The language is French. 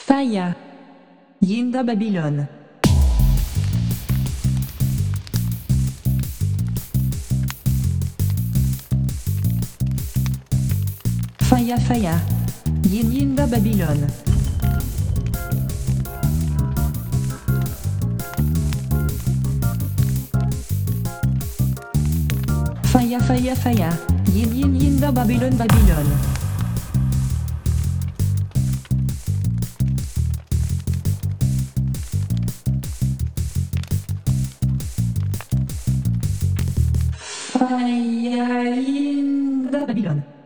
Faya. Yinda Babylone. Faya Faya. Yinda Babylone. Faya Faya Faya. Yinda Babylone Babylone. Faya Yinda Babylone.